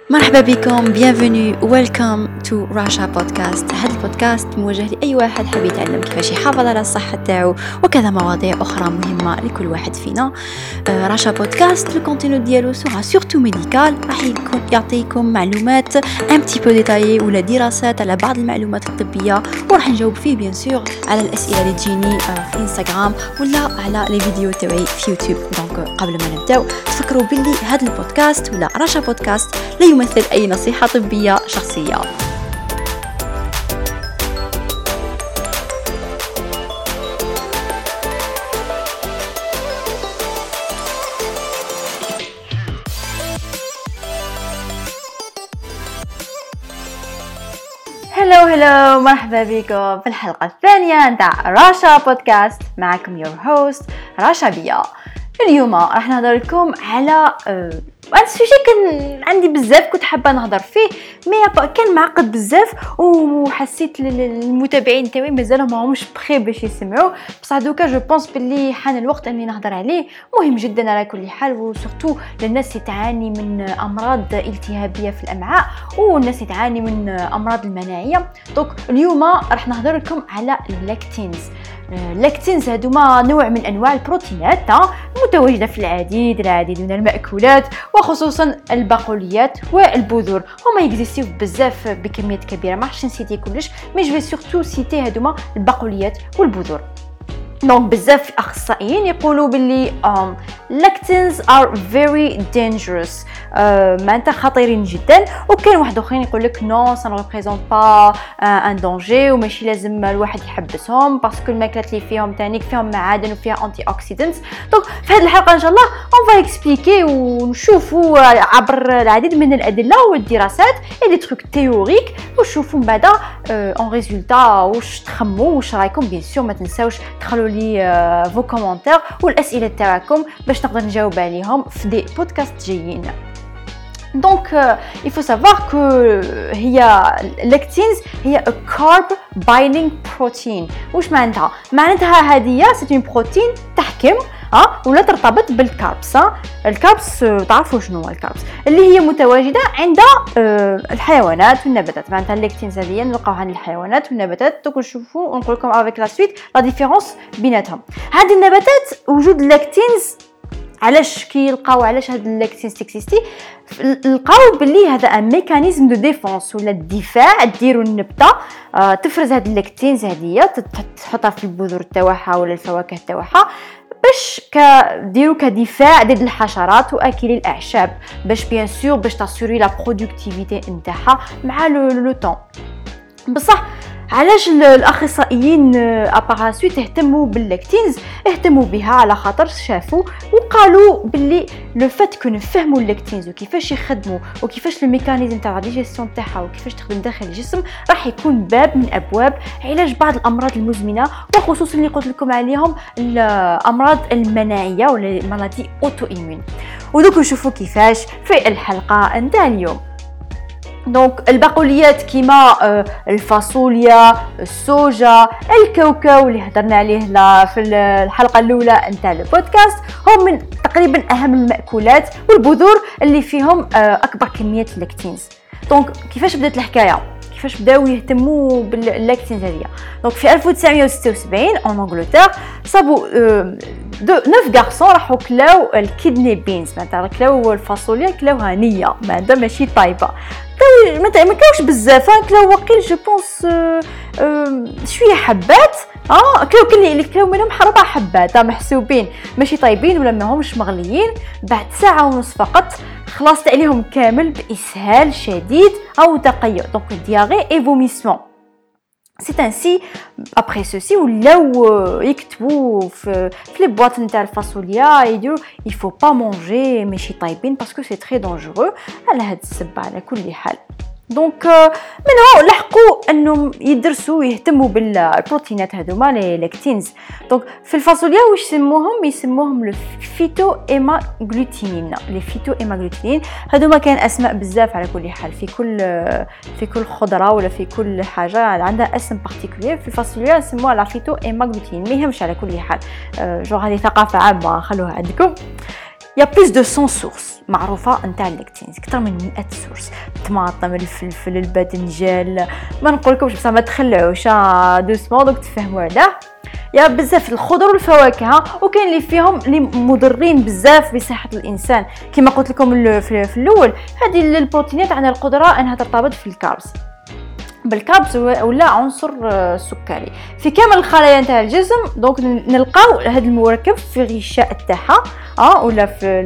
مرحبا بكم bienvenue welcome to Rasha podcast. هذا البودكاست موجه لأي واحد حاب يتعلم كيفاش يحافظ على الصحة تاعو وكذا مواضيع أخرى مهمة لكل واحد فينا. راشا بودكاست الكونتينو ديالو سورا سورتو ميديكال، راح يعطيكم معلومات un petit peu détaillées ولا دراسات على بعض المعلومات الطبية، وراح نجاوب فيه بيان سور على الأسئلة اللي تجيني في انستغرام ولا على لي فيديو تاعي في يوتيوب. دونك قبل ما نبداو تفكروا باللي هذا البودكاست ولا راشا بودكاست لا يمثل أي نصيحة طبية شخصية. هلو مرحبا بكم في الحلقة الثانية نتاع راشا بودكاست. معكم يور هوست راشا بيا. اليوم راح نهضر لكم على هذا السوجي كان عندي بزاف كنت حابه نهضر فيه، مي كان معقد بزاف وحسيت المتابعين تاعي مازالهم ماهمش بخير باش يسمعوا، بصح دوكا جو بونس باللي حان الوقت اني نهضر عليه. مهم جدا على كل حال، وسورتو للناس اللي تعاني من امراض التهابيه في الامعاء والناس اللي تعاني من امراض المناعيه. دونك اليوم راح نهضر لكم على اللاكتينز. اللاكتينز هذوما نوع من انواع البروتينات متواجده في العديد من المأكولات، وخصوصا البقوليات والبذور. هما يكزيستيو بزاف بكميات كبيره، ما راحش نسيتي كلش، مي جو سورتو سيتي هذوما البقوليات والبذور. دونك بزاف اخصائيين يقولوا باللي لاكتينز ار فيري دينجرس، معناتها خطيرين جدا. وكاين واحد اخرين يقول لك نو سا ريبريزونت با ان دونجي وماشي لازم الواحد يحبسهم باسكو الماكلات اللي فيهم تانيك فيهم معادن وفيها انتي اوكسيدنتس. دونك في هذه الحلقه ان شاء الله اون فا اكسبليكي ونشوفوا عبر العديد من الادله والدراسات اي دي تروك تيوريك، ونشوفوا من بعد اون ريزولتا واش تخموا واش رايكم. بيان سور ما تنساوش تخلوا لي فو كومونتير والاسئله تاعكم باش نقدر نجاوب عليهم في دي بودكاست جايين. دونك il faut savoir que هي لاكتينز هي a carb binding protein. واش معناتها هذه سي une بروتين تحكم ولا ترتبط بالكاربس. الكاربس تعرفوا شنو هو الكاربس؟ اللي هي متواجده عند الحيوانات والنباتات. معناتها اللاكتينز هذه نلقاوها عند الحيوانات والنباتات. دوك نشوفوا ونقول لكم افيك لا سويت لا ديفيرونس بيناتهم. هذه النباتات وجود اللاكتينز علاش كيلقاو علاش هاد اللاكتينز تكسيستي، لقاو باللي هذا ان ميكانيزم دو ديفونس ولا الدفاع ديروا النبته تفرز هاد اللاكتينز هذه تحطها في البذور تاعها ولا الفواكه تاعها باش ديروا كدفاع ضد الحشرات واكلي الاعشاب، باش بيان سور باش تاسوري لا برودكتيفيتي نتاعها مع لو طون. بصح علاش الاخصائيين اباراسويت اهتموا باللاكتينز؟ اهتموا بها على خاطر شافوا وقالوا باللي لو فات كون نفهموا اللاكتينز وكيفاش يخدموا وكيفاش الميكانيزم تاع ديجيستيون تاعها وكيفاش تخدم داخل الجسم، راح يكون باب من ابواب علاج بعض الامراض المزمنه، وخصوصا اللي قلت لكم عليهم الامراض المناعيه ولا المرضى اوتو ايمون. ودوك نشوفوا كيفاش في الحلقه نتاع اليوم. دونك البقوليات كيما الفاصوليا، السوجا، الكاوكاو اللي هضرنا عليه في الحلقه الاولى نتاع البودكاست هم من تقريبا اهم المأكولات والبذور اللي فيهم اكبر كميات اللاكتينز. دونك كيفاش بدات الحكايه؟ كيفاش بداو يهتموا باللاكتينز هذه؟ دونك في 1976 ان انجلترا صابوا 9 غارسون راحوا كلاو الكيدني بينز، معناتها كلاو الفاصوليا كلاوها نيه معناتها ماشي طايبه، ما كاوش بزاف، كلاو وقيل جو بونس شويه حبات كلاو منهم 4 حبات محسوبين ماشي طايبين ولا ماهمش مغليين. بعد ساعه ونص فقط خلصت عليهم كامل باسهال شديد او تقيؤ، دونك دياري اي فوميسمون. C'est ainsi, après ceci, ولاو يكتبوا في لي بواط نتاع الفاصوليا يديروا il faut pas manger ماشي طايبين باسكو سي تري دونجورو على هاد السبب على كل حال. دونك منها لحقوا انهم يدرسوا ويهتموا بالبروتينات هذوما لي لاكتينز. دونك في الفاصوليا واش يسموهم لو فيتو ايما غلوتينين. لي فيتو ايما غلوتينين هذوما كاين اسماء بزاف على كل حال، في كل خضره ولا في كل حاجه عندها اسم بارتيكولير. في الفاصوليا يسموها لا فيتو ايما غلوتينين، ما يهمش على كل حال. جو هذه ثقافه عامه خلوها عندكم. يا بلوس دو 100 سورس معروفه نتاع الليكتينز، اكثر من 100 سورس. الطماطم، الفلفل، الباذنجان، ما نقولكمش بصح ما تخلعوش دوسمون دوك تفهموا هذا. يا بزاف الخضر والفواكه، وكاين اللي فيهم اللي مضرين بزاف بصحه الانسان كما قلت لكم في الاول. هذه البروتينات عندها القدره انها ترتبط في الكاربس بالكاربس ولا عنصر سكري في كامل الخلايا نتاع الجسم. دونك نلقاو هذا المركب في الغشاء تاعها ولا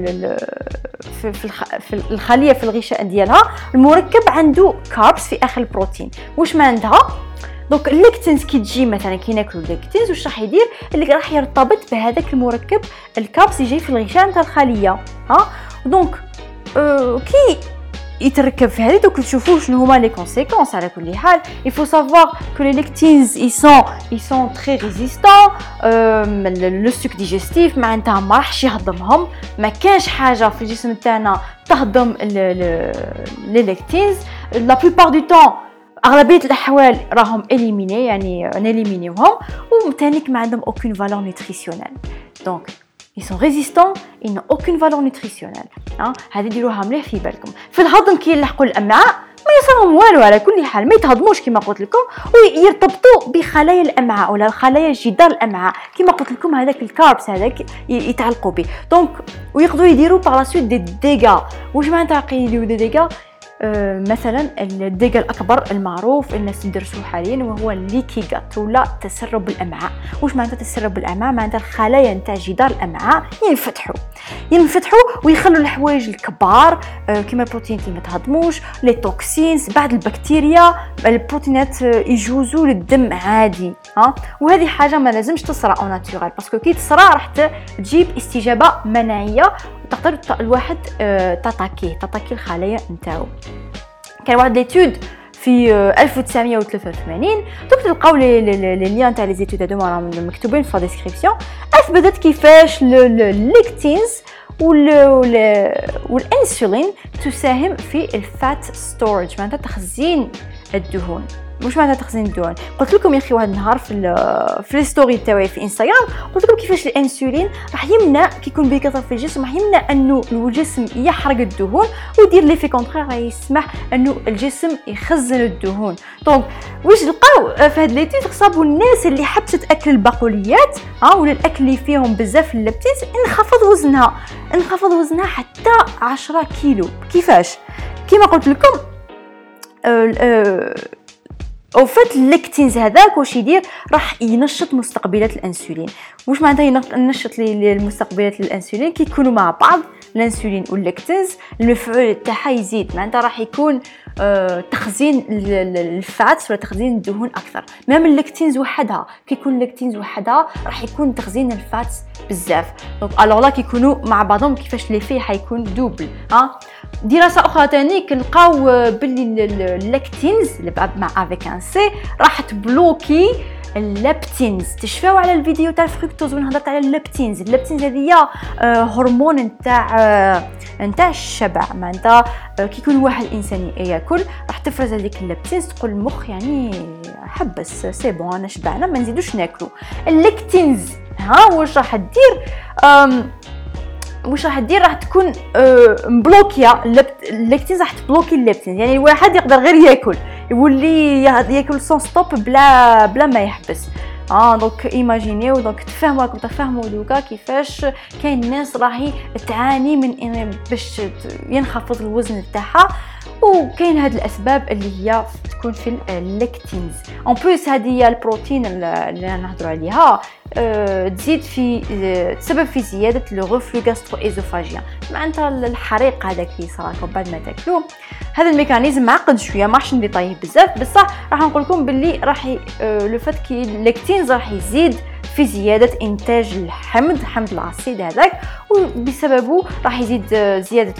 في الخليه في الغشاء ديالها. المركب عنده كاربس في اخر البروتين. واش ما عندها؟ دونك الليكتينز كي تجي مثلا كي ناكلوا الليكتينز واش راح يدير؟ اللي راح يرتبط بهذاك المركب الكاربس يجي في الغشاء نتاع الخليه. دونك كي يتركب في هذه دوك تشوفوا شنو هما لي كونسيكونس. على كل حال il faut savoir que les lectines ils sont très résistants le suc digestif معناتها ما راحش يهضمهم. ما كانش حاجه في الجسم تاعنا تهضم لي ليكتينز. لا بلوبار دو طون اغلبيه الاحوال راهم اليميني يعني نيليمينيوهم وثانيك ما عندهم aucune valeur nutritionnelle. donc ils sont résistants, ils n'ont aucune valeur nutritionnelle. هذه ديروها مليح في بالكم. في الهضم كي يلحقوا الامعاء ما يصيرهم والو، على كل حال ما يتهضموش كما قلت لكم، ويرتبطوا بخلايا الامعاء ولا خلايا جدار الامعاء كما قلت لكم. هذاك الكاربس هذاك يتعلقوا به. دونك ويقدروا يديروا باغ لا سويت دي ديغا. واش معناتها يديروا دي ديغا؟ مثلا الديغا الاكبر المعروف الناس يدرسوه حاليا وهو الليكي جات ولا تسرب الامعاء. واش معناتها تسرب الامعاء؟ معناتها الخلايا نتاع جدار الامعاء ينفتحوا ويخلوا الحوايج الكبار كما البروتين اللي ما تهضموش، لي توكسينز، بعض البكتيريا، البروتينات يجوزوا للدم عادي. وهذه حاجه ما لازمش تصرى او ناتورال باسكو كي تصرى راح تجيب استجابه مناعيه تقدر الواحد تاتاكي الخلايا نتاعو. كان واحد ليتود في 1983 تلقاو لي ليان تاع لي زيتود هادو راهم مكتوبين في الديسكريبسيون. اثبتت كيفاش الليكتينز والانسولين تساهم في الفات ستورج معناتها تخزين الدهون. واش معناتها تخزين الدهون؟ قلت لكم يا اخي واحد النهار في الستوري تاعي في انستغرام قلت لكم كيفاش الانسولين راح يمنع كي يكون بكثره في الجسم راح يمنع انه الجسم يحرق الدهون ويدير لي في كونترير راح يسمح انه الجسم يخزن الدهون. دونك واش لقاو في هاد ليتيد صابوا الناس اللي حبست اكل البقوليات ولا الاكل اللي فيهم بزاف اللبتيز انخفض وزنها حتى 10 كيلو. كيفاش؟ كما قلت لكم او فات الليكتينز هذاك واش يدير؟ راح ينشط مستقبلات الانسولين. واش معناتها ينشط المستقبلات الانسولين؟ كي يكونوا مع بعض الانسولين والليكتينز المفعول تاعها يزيد معناتها راح يكون تخزين الفاتس ولا تخزين الدهون اكثر. مام الليكتينز وحدها كي يكون الليكتينز وحدها راح يكون تخزين الفاتس بزاف. دونك الوغ لا كي يكونوا مع بعضهم كيفاش لي في حيكون دوبل. دراسه اخرى ثاني لقاو باللي الليكتينز مع افيك ان سي راح تبلوكي الليبتينز. تشفاو على الفيديو تاع الفركتوز ونهضرت على الليبتينز. الليبتينز هذه هرمون نتاع الشبع معناتها كي يكون واحد الانسان ياكل راح تفرز هذيك الليبتينز تقول المخ يعني حبس سي بون انا شبعنا ما نزيدوش ناكلو. الليكتينز واش راح دير؟ راح تكون مبلوكيه الليكتينز راح تبلوكي الليبتينز. يعني الواحد يقدر غير ياكل يولي ياكل سون ستوب بلا ما يحبس. دونك ايماجينيو دونك تفهموا دوكا كيفاش كاين ناس راهي تعاني من باش ينخفض الوزن تاعها وكاين هاد الاسباب اللي هي تكون في الليكتينز. اون بليس هذه البروتين اللي نهضروا عليها تزيد في تسبب في زياده لو غوفلو غاسترو ايزوفاجيان معناتها الحريق هذاك اللي يصراكم بعد ما تاكلوه. هذا الميكانيزم معقد شويه ما راحش نديطايه بزاف بصح راح نقول لكم باللي راح لو فات كي الليكتينز راح يزيد في زياده انتاج حمض العصيد هذاك وبسببه راح يزيد زياده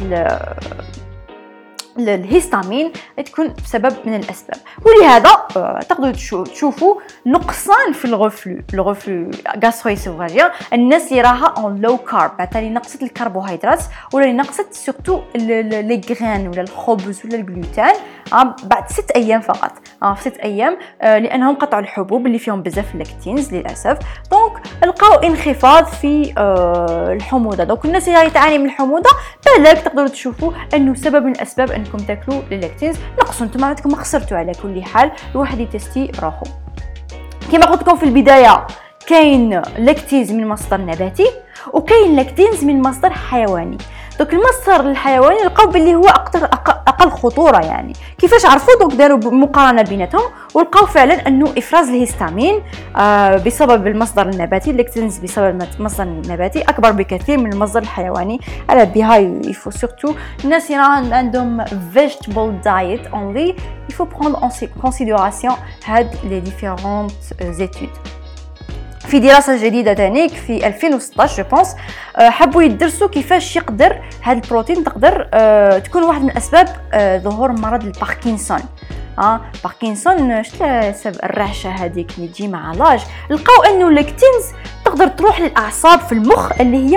الهيستامين تكون سبب من الاسباب. ولهذا تقدروا تشوفوا نقصان في الغفلو غاسترويسوفاجيان الناس اللي راها اون لو كارب مثلا نقصت الكربوهيدرات ولا نقصت سورتو لي غران ولا الخبز ولا الجلوتين بعد 6 أيام فقط، في 6 أيام، لأنهم قطعوا الحبوب اللي فيهم بزاف اللاكتينز للأسف. دونك لقاو انخفاض في الحموضة. دونك الناس اللي تعاني من الحموضة بالك تقدروا تشوفوا أنه سبب من الأسباب أنكم تاكلوا اللاكتينز نقصوا، انتم عندكم ما خسرتوا. على كل حال الواحد يتستي روحو. كما قلت لكم في البداية، كاين لاكتيز من مصدر نباتي وكاين لاكتيز من مصدر حيواني. دونك المصدر الحيواني لقاو باللي هو اقل خطوره. يعني كيفاش عرفوا؟ دونك داروا مقارنه بيناتهم ولقاو فعلا انه افراز الهستامين بسبب المصدر النباتي، اللاكتيز بسبب المصدر النباتي اكبر بكثير من المصدر الحيواني. على بها يفو سورتو الناس اللي عندهم vegetable diet only il faut prendre en considération هاد les différentes études. في دراسة جديدة تانيك في 2016 جو بونس حبوا يدرسوا كيفاش يقدر هذا البروتين تقدر تكون واحد من أسباب ظهور مرض الباركنسون. باركنسون سبب الرعشة هذيك اللي تجي مع لاج. لقاو انه اللاكتينز تقدر تروح للأعصاب في المخ اللي هي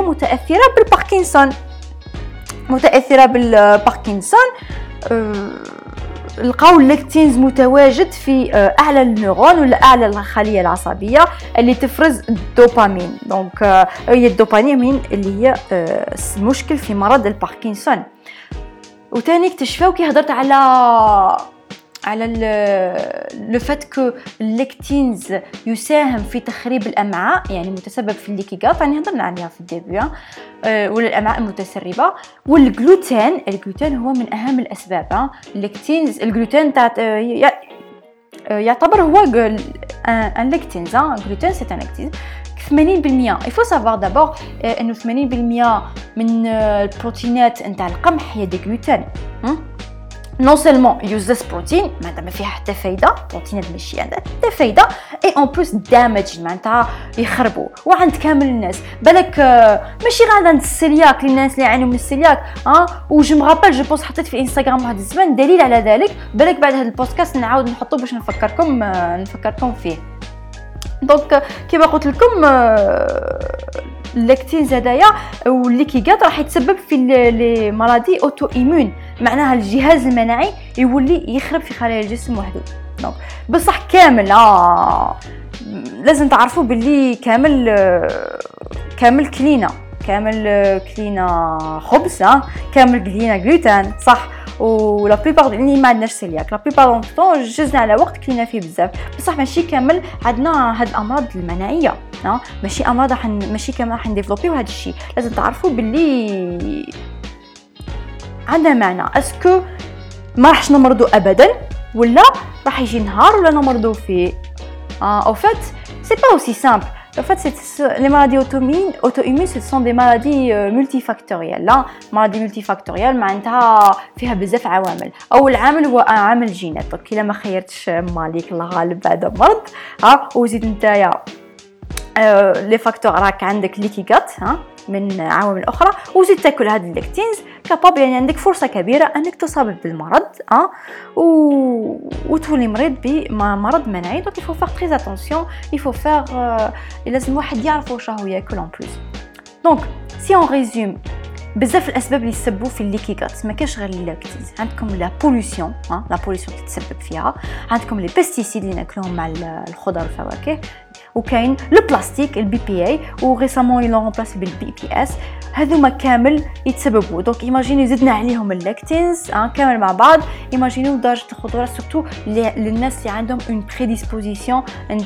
متأثرة بالباركنسون. لقاو اللاكتينز متواجد في اعلى النيرون ولا اعلى الخليه العصبيه اللي تفرز الدوبامين. دونك هي الدوبامين اللي هي المشكل في مرض الباركنسون. وثاني اكتشفوا كي هضرت على لو فات كو اللاكتينز يساهم في تخريب الامعاء، يعني متسبب في الليكيغات، يعني هضرنا عليها في الديبي، ولا الامعاء المتسربه. والجلوتين هو من اهم الاسباب. اللاكتينز الجلوتين يعتبر هو ان لاكتينز. جلوتين سي ان لاكتينز 80%. il faut savoir d'abord انه 80% من البروتينات نتاع القمح هي دي جلوتين. non seulement useless protein ما فيها حتى فايده، بروتينات ماشي عندها حتى فايده، اي اون بلس دامج معناتها يخربوا. وعند كامل الناس بالك ماشي غير عند السيلياك، الناس اللي يعانوا من السيلياك. وجو مغابل جو بوست حطيت في انستغرام واحد الزمان دليل على ذلك، بالك بعد هذا البودكاست نعاود نحطه باش نفكركم فيه. دونك كما قلت لكم اللاكتينز هدايا والليكيغات راح يتسبب في لي مرضي اوتو ايمون، معناها الجهاز المناعي يولي يخرب في خلايا الجسم وحده. دونك بصح كامل لازم تعرفوا باللي كامل كلينا خبز، كامل كلينا جلوتين صح. ولا بيبار اللي ما عندناش سيلياك لا بيبار طون جزنا على وقت كلينا فيه بزاف، بصح ماشي كامل عندنا هاد الامراض المناعيه. ماشي كامل راح نديفلوبيو هذا الشيء. لازم تعرفوا باللي عندها معنى. اسكو ما راحش نمرضوا ابدا ولا راح يجي نهار ولا نمرضوا فيه؟ au fait c'est pas aussi simple. En fait, les maladies auto-immunes, ce sont des maladies multifactorielles. لا maladies multifactorielles معناتها فيها بزاف عوامل. أول عامل هو عامل الجينات. كي ما خيرتش مالك الله غالب هذا مرض وزيد نتايا لي فاكتور راك عندك ليكيغات من عوامل اخرى، وزيد تاكل هاد اللاكتينز كابابل، يعني عندك فرصه كبيره انك تصاب بالمرض وتولي مريض بمرض مناعي. دونك يفو فار تري اتونسيون، يفو فار لازم واحد يعرف واش راهو ياكل اون بليس. دونك سي اون ريزوم بزاف الاسباب اللي يسببوا في الليكيغات ما كاش غير اللاكتيز. عندكم لا بولوسيون، لا بولوسيون تتسبب فيها، عندكم لي بيستيسيد اللي ناكلوهم مع الخضر والفواكه، وكاين لو بلاستيك البي بي اي وريسامون يلون رومبلاسي بالبي بي اس. هذوما كامل يتسببوا. دونك ايماجيني زدنا عليهم اللاكتينز كامل مع بعض، ايماجينيو درجه الخطوره سورتو للناس اللي عندهم اون بريديسبوزيسيون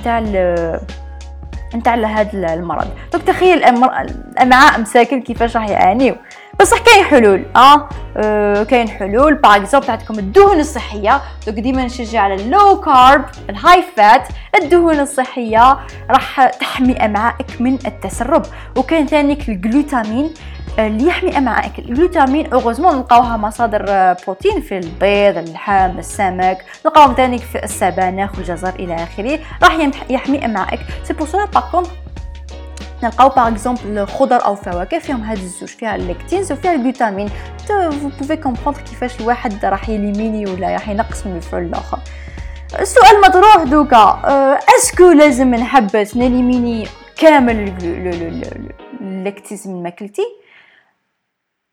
نتاع هذا المرض. دونك تخيل الامعاء مساكن كيفاش راح يعانيو. بصح كاين حلول. كاين حلول. باغ اكزومبل عندكم الدهون الصحيه. دونك ديما نشجع على اللو كارب الهاي فات. الدهون الصحيه راح تحمي امعائك من التسرب. وكاين ثانيك الجلوتامين اللي يحمي امعائك. الجلوتامين اوغوزمون نلقاوها مصادر بروتين في البيض، اللحم، السمك، نلقاوهم ثانيك في السبانخ والجزر الى اخره، راح يحمي امعائك. سي بور سولا باغ كونطر نلقاو باغ اكزومبل خضر او فواكه فيهم هاد الزوج، فيها اللاكتينز وفيها الجلوتامين. فو بوفي كومبروندر كيفاش الواحد راح يليميني ولا راح ينقص من الفعل الاخر. السؤال مطروح دوكا، اسكو لازم نحبس نليميني كامل اللاكتيز من ماكلتي؟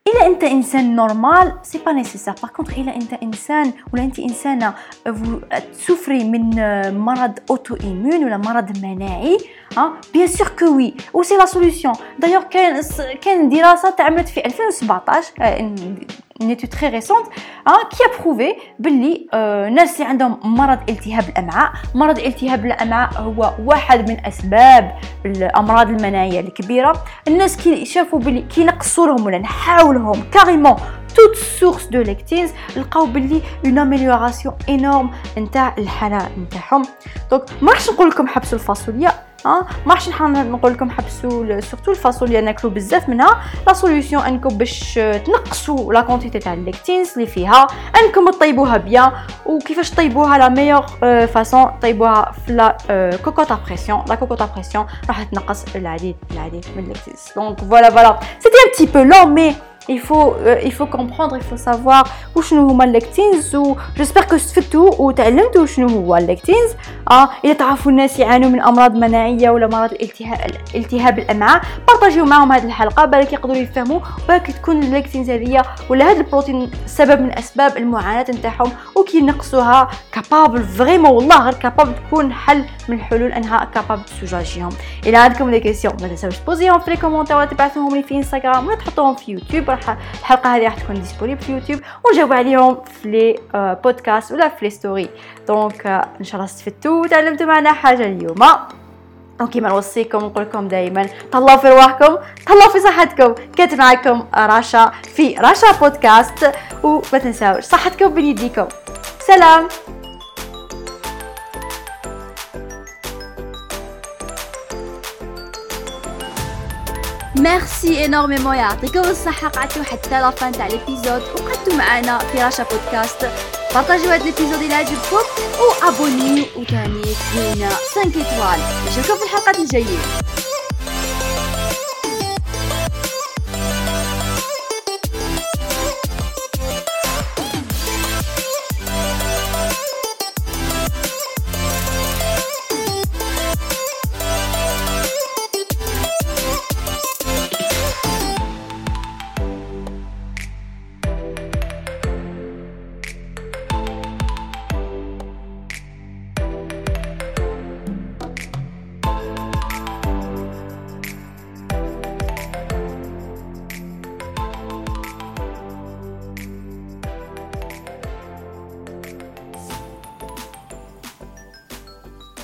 الا انت انسان نورمال سي با نيسيسار. باغ كونطخ الا انت انسان ولا انت انسانه تسوفري من مرض اوتو ايمون ولا مرض مناعي بيان سور كو وي و سي لا سوليوشن. دايوغ كان دراسه تعملت في 2017 نيتو تري ريسونت كي بروفي باللي الناس اللي عندهم مرض التهاب الامعاء، مرض التهاب الامعاء هو واحد من اسباب الامراض المناعيه الكبيره. الناس كي شافوا باللي كي نقصوا لهم ولا نحاولهم كاريمون toute source de lectines لقاو باللي une amélioration énorme نتاع الحاله نتاعهم. دونك ما راحش نقول لكم حبسوا الفاصوليا، ما راحش نقول لكم حبسوا سورتو الفاصوليا ناكلوا بزاف منها. لا سوليوشن انكم باش تنقصوا لا كونتيتي تاع الليكتينز اللي فيها انكم تطيبوها بيان. وكيفاش تطيبوها؟ لا ميور فاصون طيبوها في لا كوكوط ا بريسيون. لا كوكوط ا بريسيون راح تنقص العديد من الليكتينز. دونك فوالا سيتي ان بتي بو لون مي il faut comprendre, il faut savoir وشنو هما الليكتينز. و j'espère que استفدتوا وتعلمتوا شنو هو الليكتينز. اذا تعرفوا الناس يعانوا من امراض مناعيه ولا مرض التهاب الامعاء بارطاجيو معهم هذه الحلقه بالك يقدروا يفهموا، بالك تكون الليكتينز هذه ولا هذا البروتين سبب من اسباب المعاناه نتاعهم وكي نقصوها كابابل فريمون والله غير كابابل تكون حل من الحلول انها كابابل تسوجاجيهم. الى عندكم دي كيسيون ما تنساوش تبوزيهم في لي كومونتير ولا تبعثوهم لي في انستغرام ولا تحطوهم في يوتيوب. الحلقه هذه راح تكون ديسپونيبل في يوتيوب ونجاوب عليهم في لي بودكاست ولا في لي ستوري. دونك ان شاء الله استفدتوا وتعلمتوا معنا حاجه اليوم. كما نوصيكم ونقول لكم دائما تهلاو في رواحكم، تهلاو في صحتكم. كانت معكم رشا في رشا بودكاست، وما تنساوش صحتكم بين يديكم. سلام. ميرسي انورميمون، يعطيكم الصحه قعدتوا حتى لا فان تاع ليبيزود وقعدتوا معنا في رشا بودكاست. بارطاجيو هذا ليبيزود الى عجبكم وابونيو وثاني كاينه 5 ايطوال. نشوفكم في الحلقات الجايه.